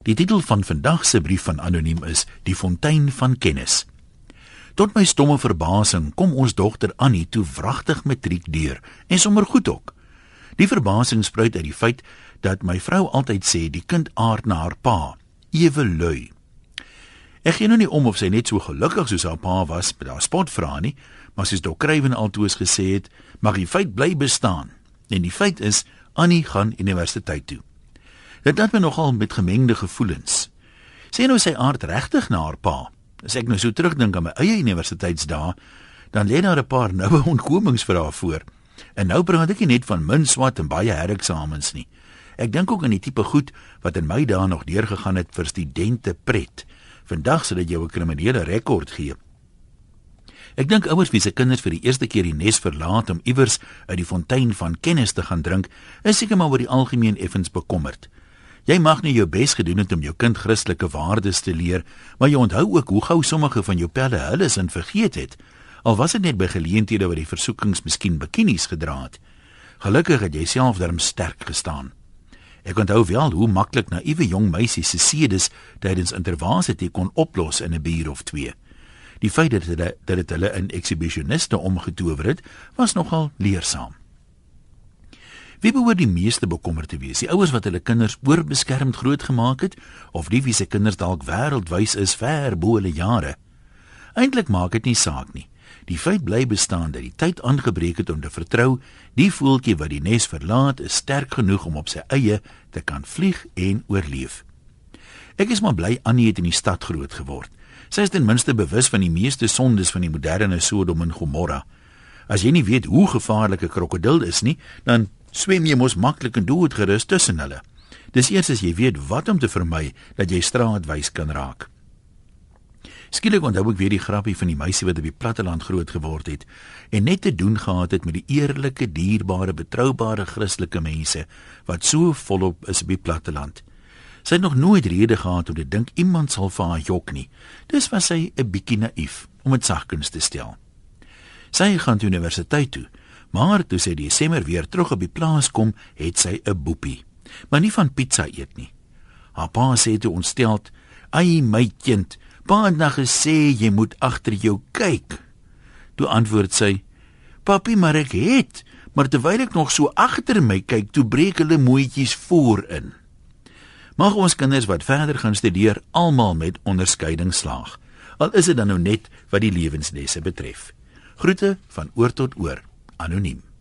Die titel van vandag se brief van Anoniem is Die Fontein van Kennis. Tot my stomme verbasing kom ons dogter Annie toe wragtig matriek deur en sommer goed ook. Die verbasing spruit uit die feit dat my vrou altyd sê die kind aard na haar pa, ewe lui. Ek gee nou nie om of sy net so gelukkig soos haar pa was by haar spotvra nie, maar soos Dr. Kruiven altoos gesê het, mag die feit bly bestaan. En die feit is, Annie gaan universiteit toe. Dit laat my nogal met gemengde gevoelens. Sê nou sy aard regtig na haar pa. As ek nou so terugdink aan my eie universiteitsdae, dan lê daar 'n paar noue ontkomings vir haar voor. En nou praat ek nie net van min swat en baie hereksamens nie. Ek dink ook aan die tipe goed wat in my dae nog deurgegaan het vir studente pret. Vandag sal dit jou 'n kriminele rekord gee. Ek dink ouers wie se kinders vir die eerste keer die nes verlaat om iewers uit die fontein van kennis te gaan drink, is seker maar oor die algemeen effens bekommerd. Jy mag nie jou bes gedoen het om jou kind Christelike waardes te leer, maar jy onthou ook hoe gou sommige van jou pelle hulle sin vergeet het, al was dit net by geleenthede waar die versoekings miskien bikinis gedra het. Gelukkig het jy self daarom sterk gestaan. Ek onthou wel hoe maklik naïewe jong meisies se sedes tydens intervasie kon oplos in 'n bier of twee. Die feit dat dit hulle in exhibitioniste omgetower het, was nogal leersaam. Wie behoort die meeste bekommerd te wees? Die ouers wat hulle kinders oorbeskermd grootgemaak het, of die wie se kinders dalk wêreldwys is ver bo hulle jare? Eintlik maak dit nie saak nie. Die feit bly bestaan dat die tyd aangebreek het om te vertrou, die voeltjie wat die nes verlaat is sterk genoeg om op sy eie te kan vlieg en oorleef. Ek is maar bly Annie het in die stad groot geword. Sy is ten minste bewus van die meeste sondes van die moderne Sodom en Gomorra. As jy nie weet hoe gevaarlik 'n krokodil is nie, dan swem jy mos maklik en doodgerus tussen hulle. Dis eers as jy weet wat om te vermy, dat jy straatwys kan raak. Skielik onthou ek weer die grappie van die meisie wat op die platteland groot geword het, en net te doen gehad het met die eerlike, dierbare, betroubare Christelike mense, wat so volop is op die platteland. Sy het nog nooit rede gehad om te dink iemand sal vir haar jok nie. Dus was sy 'n bietjie naïef, om dit sagkens te stel. Sy gaan toe universiteit toe, maar toe sy Desember weer terug op die plaas kom, het sy 'n boepie. Maar nie van pizza eet nie. Haar pa sê toe ontsteld, "Ai my kind, pa het nou gesê jy moet agter jou kyk." Toe antwoord sy, "Papi, maar ek het, maar terwyl ek nog so agter my kyk, toe breek hulle mooitjies voorin." Mag ons kinders wat verder gaan studeer almal met onderskeiding slaag, al is dit dan nou net wat die lewenslesse betref. Groete van oor tot oor, Anoniem.